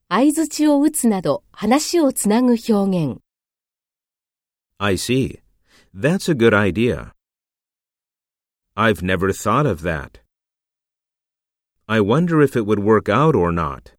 相槌を打つなど話をつなぐ表現。 I see. That's a good idea. I've never thought of that. I wonder if it would work out or not.